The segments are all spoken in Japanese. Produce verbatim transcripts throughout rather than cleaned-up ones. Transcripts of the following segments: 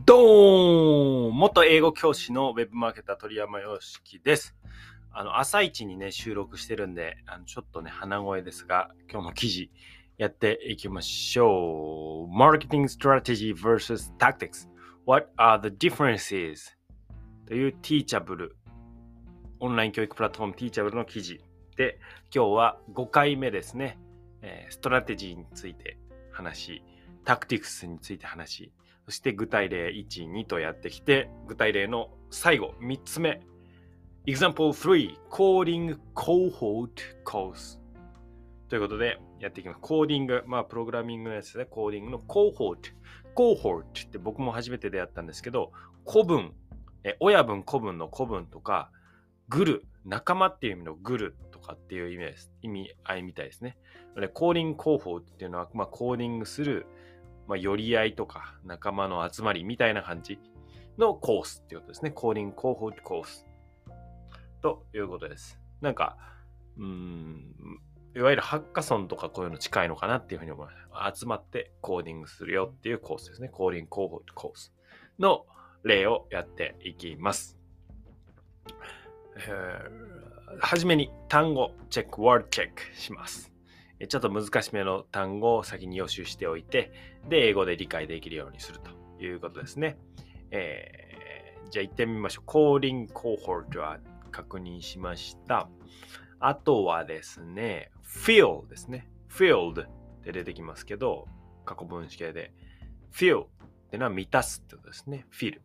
ドーン元英語教師のウェブマーケター鳥山洋樹です。あの朝一にね収録してるんであのちょっとね鼻声ですが、今日も記事やっていきましょう。 Marketing Strategy versus Tactics What are the differences? というティーチャブルオンライン教育プラットフォームティーチャブルの記事で、今日はごかいめですね。えー、ストラテジーについて話、タクティクスについて話、そして具体例いち、にとやってきて、具体例の最後みっつめ、Example スリー Coding Cohort Course ということでやっていきます。コーディング、まあプログラミングのやつですね。コーディングの Cohort Cohort って僕も初めて出会ったんですけど、子分、え親分子分の子分とか、グル、仲間っていう意味のグルとかっていう意味です。意味合いみたいですね。でコーディングコーホーっていうのは、まあ、コーディングする、まあ、寄り合いとか仲間の集まりみたいな感じのコースっていうことですね。コーディングコーホーコースということです。なんか、うーん、いわゆるハッカソンとかこういうの近いのかなっていうふうに思います。集まってコーディングするよっていうコースですね。コーディングコーホーコースの例をやっていきます。はじめに単語チェック、ワードチェックします。ちょっと難しめの単語を先に予習しておいて、で、英語で理解できるようにするということですね。えー、じゃあ行ってみましょう。コーディングコーホートは確認しました。あとはですね、fill ですね。filled って出てきますけど、過去分詞形で。fill ってのは満たすってことですね。fill。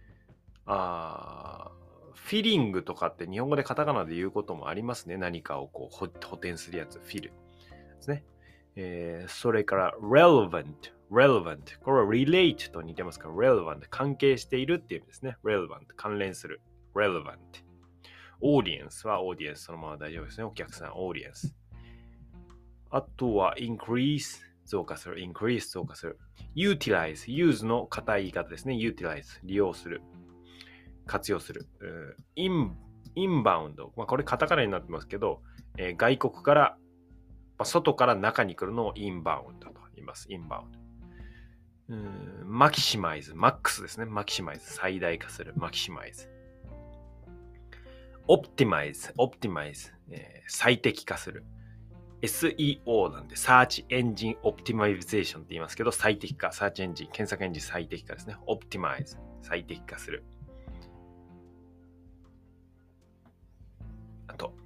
あーフィリングとかって日本語でカタカナで言うこともありますね。何かをこう補填するやつ、フィルですね。えー、それから relevant、relevant。これは relate と似てますから、relevant、関係しているっていう意味ですね。relevant、関連する。relevant。audience は audience そのまま大丈夫ですね。お客さん、audience。あとは increase、増加する。increase、増加する。utilize、use の硬い言い方ですね。utilize、利用する。活用する。イン、インバウンド。まあ、これカタカナになってますけど、えー、外国から、まあ、外から中に来るのをインバウンドと言います。インバウンド。うーんマキシマイズ。マックスですね。マキシマイズ。最大化する。マキシマイズ。オプティマイズ。オプティマイズ。えー、最適化する。エスイーオー なんで、Search Engine Optimization って言いますけど、最適化。Search Engine、検索エンジン最適化ですね。オプティマイズ。最適化する。あと、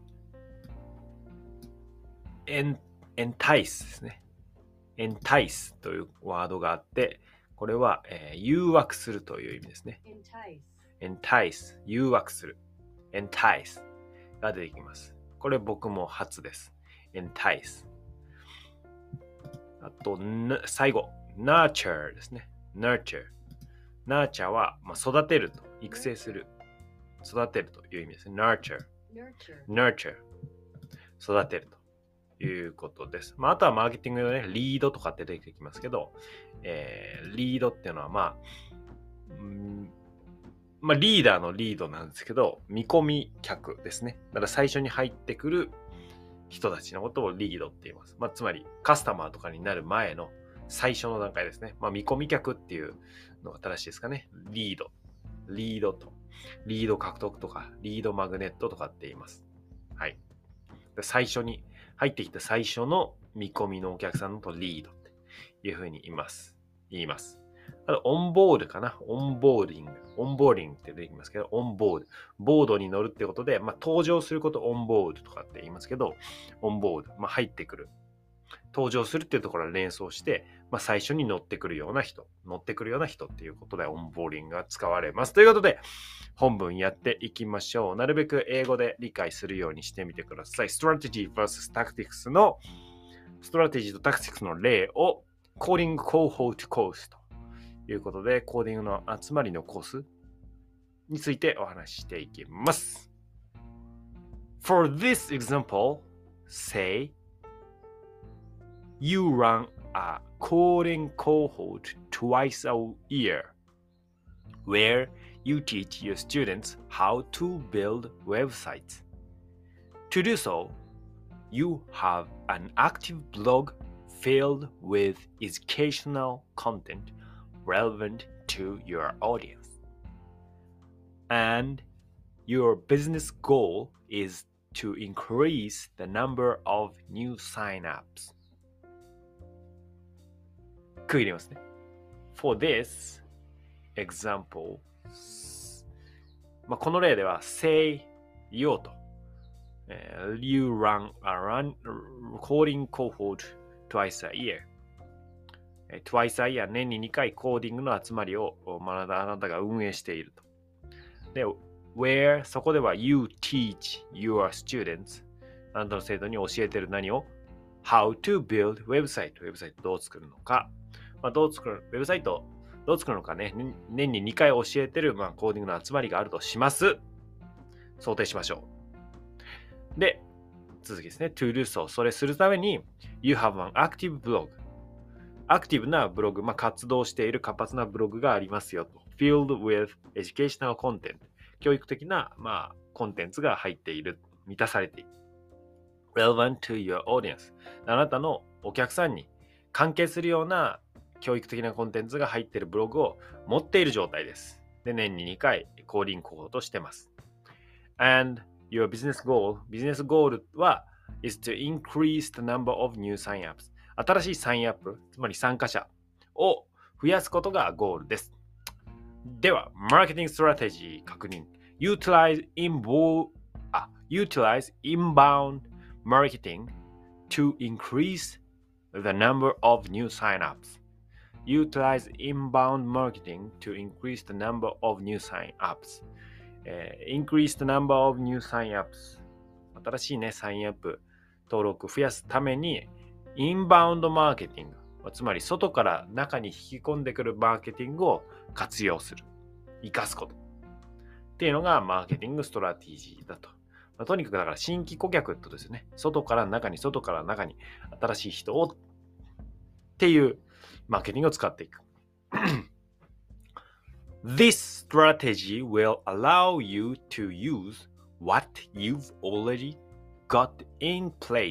エン、エンタイスですね。エンタイスというワードがあって、これは、えー、誘惑するという意味ですね。エンタイス、誘惑する。エンタイスが出てきます。これ僕も初です。エンタイス。あと、最後、nurture ですね。nurture。nurture は、まあ、育てると、育成する。育てるという意味ですね。nurture。nurture。育てると。いうことです。まあ、あとはマーケティングのね、リードとかって出てきますけど、えー、リードっていうのは、まあ、んまあ、リーダーのリードなんですけど、見込み客ですね。だから最初に入ってくる人たちのことをリードって言います。まあ、つまり、カスタマーとかになる前の最初の段階ですね。まあ、見込み客っていうのが正しいですかね。リード。リードと。リード獲得とか、リードマグネットとかって言います。はい。で最初に、入ってきた最初の見込みのお客さんのとリードっていうふうに言います。言います。あと、オンボールかな。オンボーディング。オンボーディングって出てきますけど、オンボール。ボードに乗るってことで、まあ、登場することオンボールとかって言いますけど、オンボール。まあ、入ってくる。登場するっていうところを連想して、まあ、最初に乗ってくるような人。乗ってくるような人っていうことで、オンボーリングが使われます。ということで、本文やっていきましょう。なるべく英語で理解するようにしてみてください。Strategy versus Tactics のストラテジーとタクティクスの例をコーディングコーホートコースということで、コーディングの集まりのコースについてお話ししていきます。For this example, say you run a coding cohort twice a year where you teach your students how to build websites. To do so, you have an active blog filled with educational content relevant to your audience. And your business goal is to increase the number of new sign-ups. 区切りますね。For this example, まあ、この例では say 言おうと、uh, You run a run coding cohort twice a year.Twice a year 年ににかいコーディングの集まりをあなたが運営していると。で、where そこでは you teach your students あなたの生徒に教えている何を how to build website ウェブサイトどう作るのか、まあ、どう作るウェブサイトどう作るのかね年ににかい教えている、まあ、コーディングの集まりがあるとします。想定しましょう。で、続きですね。to do so それするために you have an active blogアクティブなブログ、まあ、活動している活発なブログがありますよと。filled with educational content 教育的な、まあ、コンテンツが入っている、満たされている。relevant to your audience あなたのお客さんに関係するような教育的なコンテンツが入っているブログを持っている状態です。で、年ににかいコーディング候補としてます。and your business goal ビジネスゴールは is to increase the number of new sign-ups新しいサインアップ、つまり参加者を増やすことがゴールです。では、マーケティングストラテジー確認。Utilize, invo- あ Utilize inbound marketing to increase the number of new sign-ups. Utilize inbound marketing to increase the number of new sign-ups.、えー、increase the number of new sign-ups. 新しいね、サインアップ登録増やすためにインバウンドマーケティング、つまり外から中に引き込んでくるマーケティングを活用する、生かすことっていうのがマーケティングストラテジーだと。まあ、とにかくだから新規顧客ってことですよね。外から中に、外から中に新しい人をっていうマーケティングを使っていく。This strategy will allow you to use what you've already got in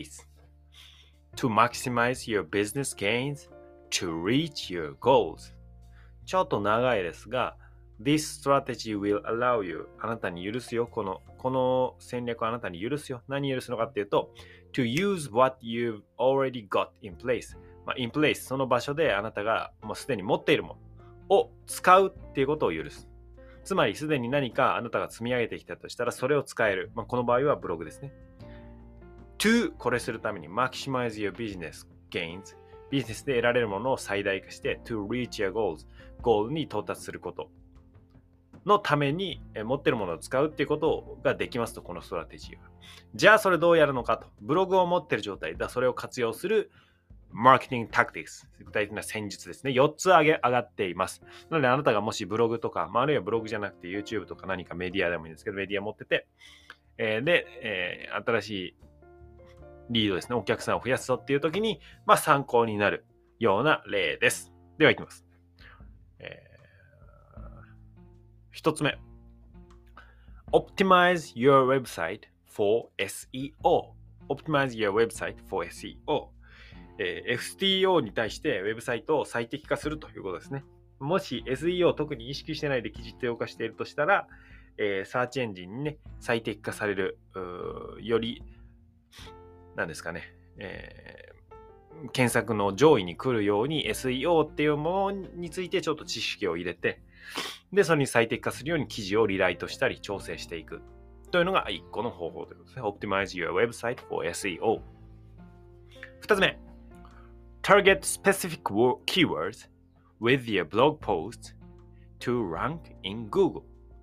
place.To maximize your business gains to reach your goals. ちょっと長いですが、This strategy will allow you あなたに許すよ。この、この戦略はあなたに許すよ。何許すのかっていうと To use what you've already got in place、まあ、in place その場所であなたがもうすでに持っているものを使うっていうことを許す。つまりすでに何かあなたが積み上げてきたとしたらそれを使える、まあ、この場合はブログですね。to これするために maximize your business gains ビジネスで得られるものを最大化して to reach your goals ゴールに到達することのために持っているものを使うっていうことができますと、このストラテジーは。じゃあそれどうやるのかと。ブログを持っている状態だ、それを活用するマーケティングタクティクス、具体的な戦術ですね。よっつ上げ上がっています。なのであなたがもしブログとか、まあ、あるいはブログじゃなくて YouTube とか何かメディアでもいいんですけど、メディア持ってて、えー、で、えー、新しいリードですね、お客さんを増やすぞっていう時に、まあ、参考になるような例です。ではいきます。えー、一つ目。Optimize your website for エスイーオー。Optimize your website for エスイーオー。えー、エスイーオー に対してウェブサイトを最適化するということですね。もし エスイーオー を特に意識してないで記述用化しているとしたら、えー、サーチエンジンにね、最適化される、より何ですかね、えー、検索の上位に来るように エスイーオー っていうものについてちょっと知識を入れて、で、それに最適化するように記事をリライトしたり調整していくというのが一個の方法ということですね。Optimize your website for エスイーオー。二つ目。Target specific keywords with your blog posts to rank in Google.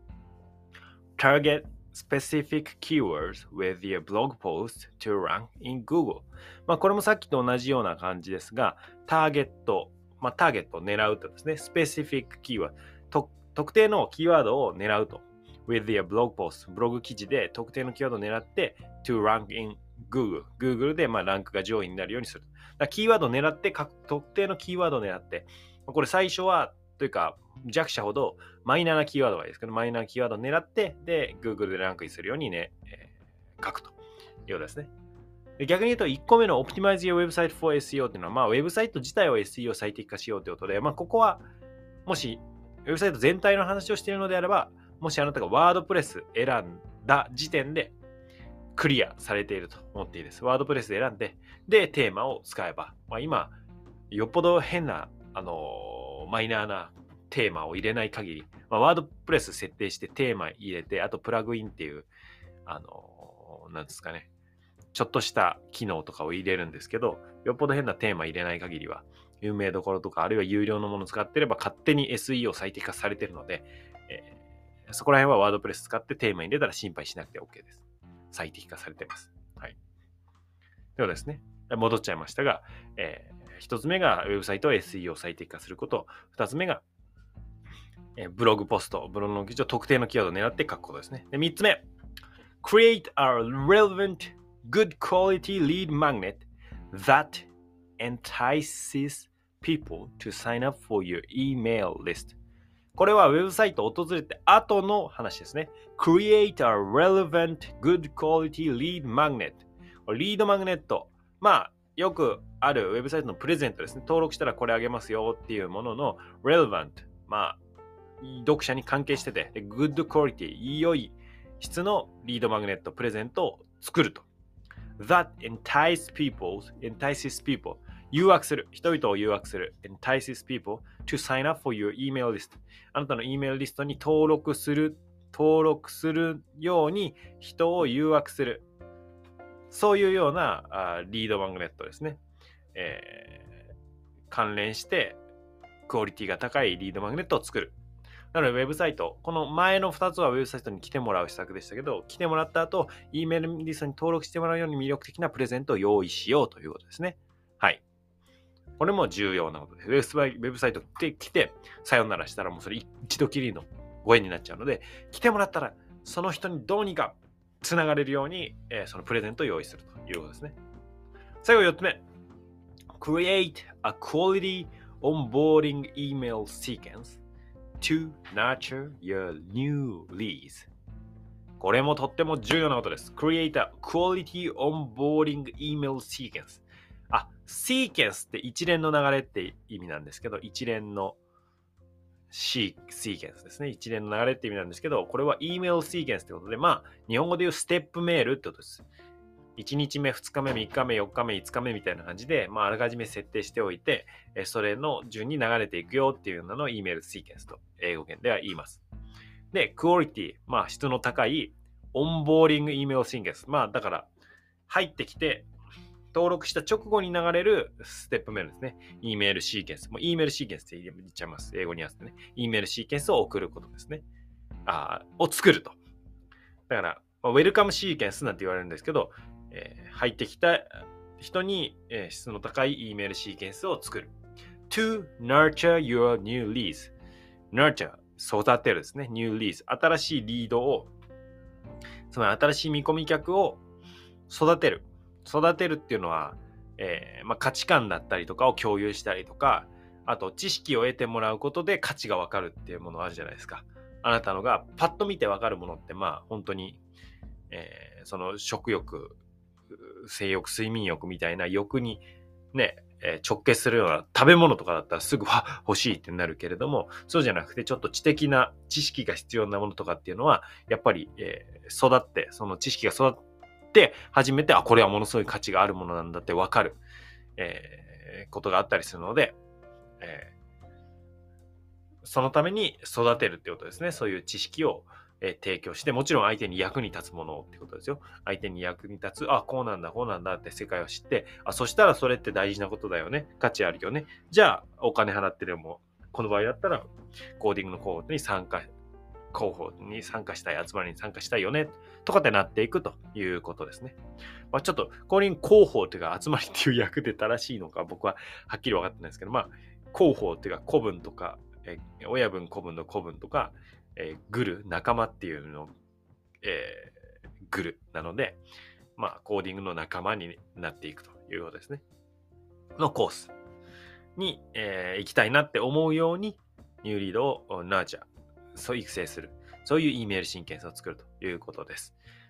Target specific keywords with your blog post to rank in Google. まあこれもさっきと同じような感じですが、ターゲット、まあターゲットを狙うとですね、specific keyword、と特定のキーワードを狙うと。with your blog post、ブログ記事で特定のキーワードを狙って to rank in Google。Google でまあランクが上位になるようにする。だキーワードを狙って、特定のキーワードを狙って、これ最初はというか弱者ほどマイナーなキーワードがいいですけど、マイナーなキーワードを狙って、で、Google でランクインするようにね、えー、書くというようですね。逆に言うと、いっこめの Optimize your website for エスイーオー っていうのは、まあ、ウェブサイト自体を エスイーオー 最適化しようということで、まあ、ここはもしウェブサイト全体の話をしているのであれば、もしあなたがワードプレス選んだ時点でクリアされていると思っていいです。ワードプレスで選んで、で、テーマを使えば、まあ、今、よっぽど変な、あのーマイナーなテーマを入れない限り、まあ、ワードプレス設定してテーマ入れて、あとプラグインっていう、あのーなんですかね、ちょっとした機能とかを入れるんですけど、よっぽど変なテーマ入れない限りは、有名どころとか、あるいは有料のものを使ってれば勝手に エスイーオー 最適化されているので、えー、そこら辺はワードプレス使ってテーマ入れたら心配しなくて OK です。最適化されています。はい。ではですね、戻っちゃいましたが、えー、一つ目がウェブサイトを エスイーオー 最適化すること、二つ目が、えー、ブログポスト、ブログの記事を特定のキーワードを狙って書くことですね。で、三つ目、create a relevant, good quality lead magnet that entices people to sign up for your email list。これはウェブサイトを訪れて後の話ですね。create a relevant, good quality lead magnet。リードマグネット。まあ、よくあるウェブサイトのプレゼントですね。登録したらこれあげますよっていうものの relevant。まあ、読者に関係してて、good quality、良い質のリードマグネット、プレゼントを作ると。that entices people, entices people。誘惑する。人々を誘惑する。entices people to sign up for your email list。あなたの E メールリストに登録する、登録するように人を誘惑する。そういうようなあリードマグネットですね、えー。関連してクオリティが高いリードマグネットを作る。なのでウェブサイト、この前のふたつはウェブサイトに来てもらう施策でしたけど、来てもらった後、E メールリストに登録してもらうように魅力的なプレゼントを用意しようということですね。はい。これも重要なことです。ウェブサイトって来て、さよならしたらもうそれ一度きりのご縁になっちゃうので、来てもらったらその人にどうにかつながれるように、えー、そのプレゼントを用意するということですね。最後よっつめ。Create a quality onboarding email sequence to nurture your new leads。これもとっても重要なことです。Create a quality onboarding email sequence。あ、sequence って一連の流れって意味なんですけど、一連のシー、シーケンスですね。一連の流れって意味なんですけど、これは E メールシーケンスってことで、まあ、日本語で言うステップメールってことです。いちにちめ、ふつかめ、みっかめ、よっかめ、いつかめみたいな感じで、まあ、あらかじめ設定しておいて、それの順に流れていくよっていうのの E メールシーケンスと英語圏では言います。で、クオリティ、まあ、質の高いオンボーディング E メールシーケンス。まあ、だから、入ってきて、登録した直後に流れるステップメールですね。E メールシーケンス。もう E メールシーケンスって言っちゃいます。英語に合わせてね。E メールシーケンスを送ることですね。あを作ると。だから、ウェルカムシーケンスなんて言われるんですけど、えー、入ってきた人に、えー、質の高い E メールシーケンスを作る。to nurture your new leads。nurture、育てるですね。new leads。新しいリードを、つまり新しい見込み客を育てる。育てるっていうのは、えーまあ、価値観だったりとかを共有したりとか、あと知識を得てもらうことで価値が分かるっていうものあるじゃないですか。あなたのがパッと見て分かるものってまあ本当に、えー、その食欲、性欲、睡眠欲みたいな欲にね、えー、直結するような食べ物とかだったらすぐは欲しいってなるけれども、そうじゃなくてちょっと知的な知識が必要なものとかっていうのはやっぱり、えー、育ってその知識が育ってで初めてあこれはものすごい価値があるものなんだって分かる、えー、ことがあったりするので、えー、そのために育てるってことですね。そういう知識を、えー、提供して、もちろん相手に役に立つものってことですよ。相手に役に立つ、あこうなんだこうなんだって世界を知って、あそしたらそれって大事なことだよね、価値あるよね。じゃあお金払ってでもこの場合だったらコーディングのコードに参加広報に参加したい、集まりに参加したいよねとかってなっていくということですね。まあ、ちょっとコーディング広報というか集まりっていう役で正しいのか僕ははっきり分かってないですけど、まあ広報っていうか古文とか、え親分古文の古文とか、えー、グル仲間っていうの、えー、グルなので、まあコーディングの仲間になっていくということですね。のコースに、えー、行きたいなって思うようにニューリードをナーチャーそう育成する。そういう E メールシーケンスを作るということです。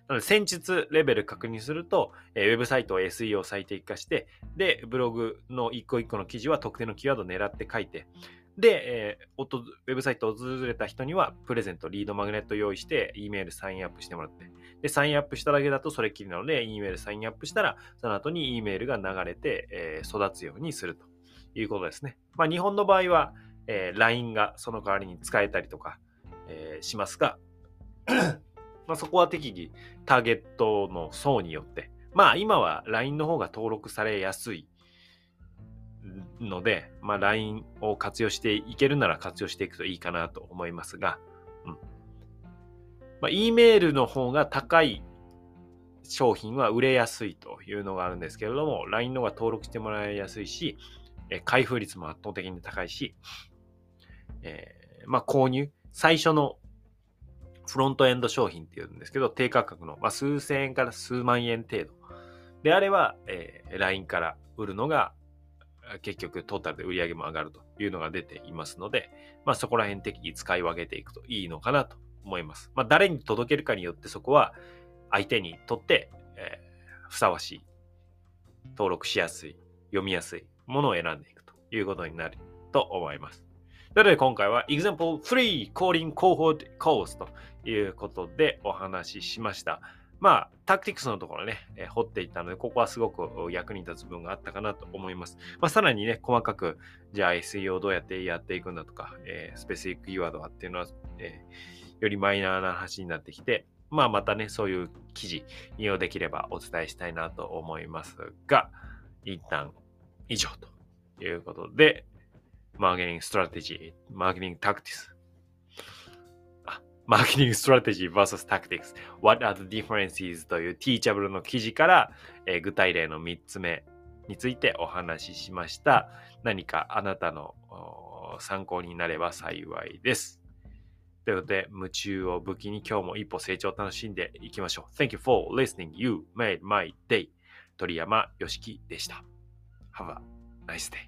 なので、戦術レベル確認すると、えー、ウェブサイトを エスイーオー 最適化して、で、ブログの一個一個の記事は特定のキーワードを狙って書いて、で、えー、ウェブサイトを訪れた人にはプレゼント、リードマグネット用意して、E メールサインアップしてもらって、で、サインアップしただけだとそれっきりなので、E メールサインアップしたら、その後に E メールが流れて、えー、育つようにするということですね。まあ、日本の場合は、えー、ライン がその代わりに使えたりとか、えー、しますが、まあそこは適宜ターゲットの層によって、まあ今は ライン の方が登録されやすいので、まあ ライン を活用していけるなら活用していくといいかなと思いますが、うん。まあ E メールの方が高い商品は売れやすいというのがあるんですけれども、ライン の方が登録してもらいやすいし、開封率も圧倒的に高いし、えー、まあ購入、最初のフロントエンド商品っていうんですけど、低価格の、まあ、数千円から数万円程度であれば、えー、ライン から売るのが結局トータルで売り上げも上がるというのが出ていますので、まあ、そこら辺適宜使い分けていくといいのかなと思います。まあ、誰に届けるかによってそこは相手にとって、えー、ふさわしい、登録しやすい、読みやすいものを選んでいくということになると思います。ということで今回は Example スリー Coding Cohort Course ということでお話ししました。まあ、タクティクスのところね、えー、掘っていったので、ここはすごく役に立つ部分があったかなと思います。まあ、さらにね、細かく、じゃあ エスイーオー どうやってやっていくんだとか、えー、スペシフィックキーワードはっていうのは、えー、よりマイナーな話になってきて、まあ、またね、そういう記事、引用できればお伝えしたいなと思いますが、一旦以上ということで、マーケティングストラテジー、マーケティングタクティクス。マーケティングストラテジー versus tactics. What are the differences? という Teachable の記事から、えー、具体例のみっつめについてお話ししました。何かあなたの参考になれば幸いです。ということで、夢中を武器に今日も一歩成長を楽しんでいきましょう。Thank you for listening. You made my day. 鳥山よしきでした。Have a nice day.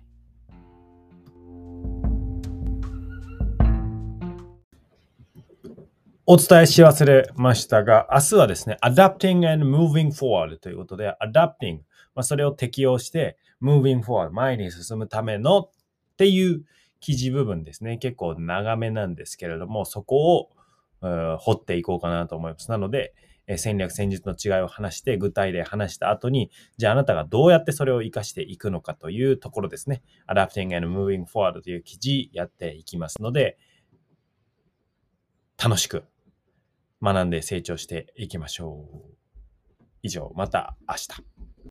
お伝えし忘れましたが、明日はですね、Adapting and Moving Forward ということで、Adapting、まあ、それを適用して、Moving Forward、前に進むためのっていう記事部分ですね。結構長めなんですけれども、そこを、うん、掘っていこうかなと思います。なので、戦略戦術の違いを話して、具体例話した後に、じゃああなたがどうやってそれを活かしていくのかというところですね。Adapting and Moving Forward という記事やっていきますので、楽しく学んで成長していきましょう。以上、また明日。